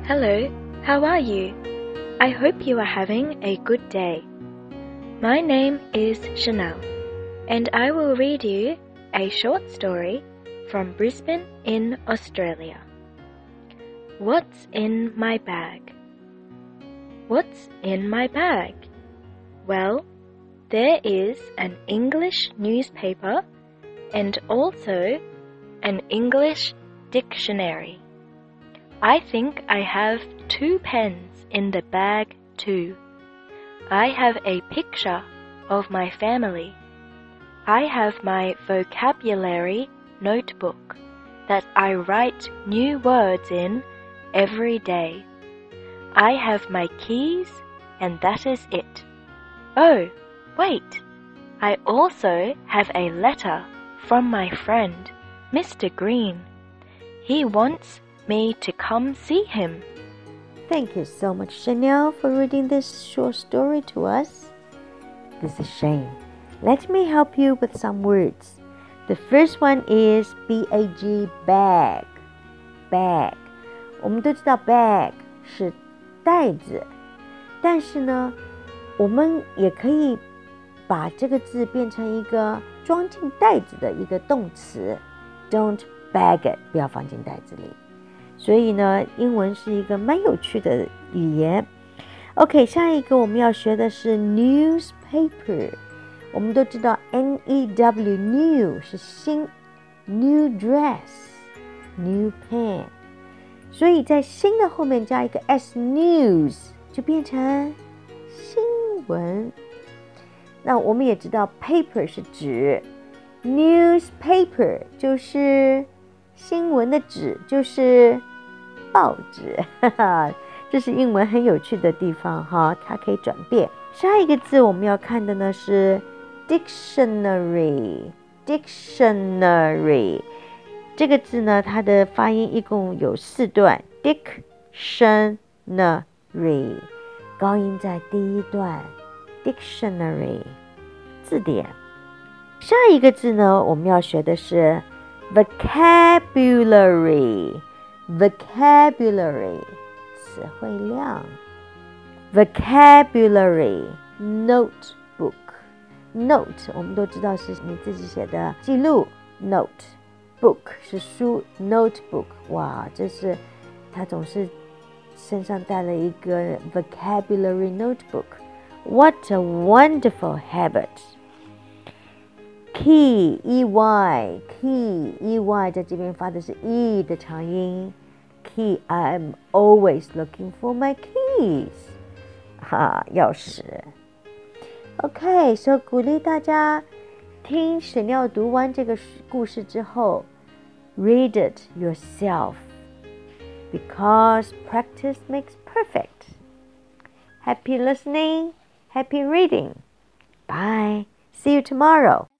Hello, how are you? I hope you are having a good day. My name is Chanel, and I will read you a short story from Brisbane in Australia. What's in my bag? What's in my bag? Well, there is an English newspaper and also an English dictionary. I think I have 2 pens in the bag too. I have a picture of my family. I have my vocabulary notebook that I write new words in every day. I have my keys, and that is it. Oh, wait! I also have a letter from my friend, Mr. Green. He wants me to come see him. Thank you so much, Chanel, for reading this short story to us. This is Shane. Let me help you with some words. The first one is B-A-G, bag. Bag. 我们都知道 bag 是袋子，但是呢，我们也可以把这个字变成一个装进袋子的一个动词。Don't bag it， 不要放进袋子里。所以呢，英文是一个蛮有趣的语言。OK， 下一个我们要学的是 newspaper。我们都知道 N-E-W new 是新 ，new dress new pen， 所以在新的后面加一个 s news 就变成新闻。那我们也知道 paper 是纸 ，newspaper 就是新闻的纸，就是报纸，哈哈，这是英文很有趣的地方哈，它可以转变。下一个字我们要看的呢是 dictionary， 这个字呢，它的发音一共有4段 ，dictionary， 高音在第一段 ，dictionary， 字典。下一个字呢，我们要学的是 vocabulary， 词汇量。vocabulary notebook， note 我们都知道是你自己写的记录 note， book 是书 notebook， 哇，这是他总是身上带了一个 vocabulary notebook， what a wonderful habit。Key, E-Y, key, 在这边发的是 E 的长音。Key, I'm always looking for my keys. 钥匙。OK, so 鼓励大家听沈耀读完这个故事之后 read it yourself, because practice makes perfect. Happy listening, happy reading. Bye. See you tomorrow.